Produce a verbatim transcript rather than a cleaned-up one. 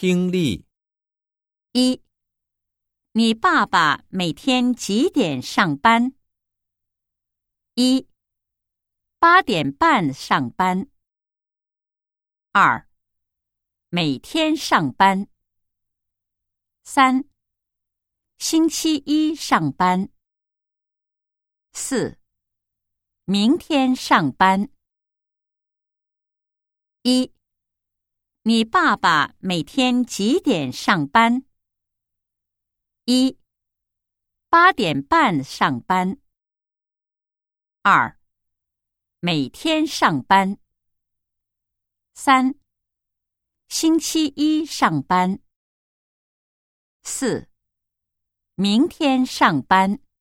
听力。 一，你爸爸每天几点上班？一，八点半上班。二，每天上班。三，星期一上班。四，明天上班。一，你爸爸每天几点上班？一，八点半上班。二，每天上班。三，星期一上班。四，明天上班。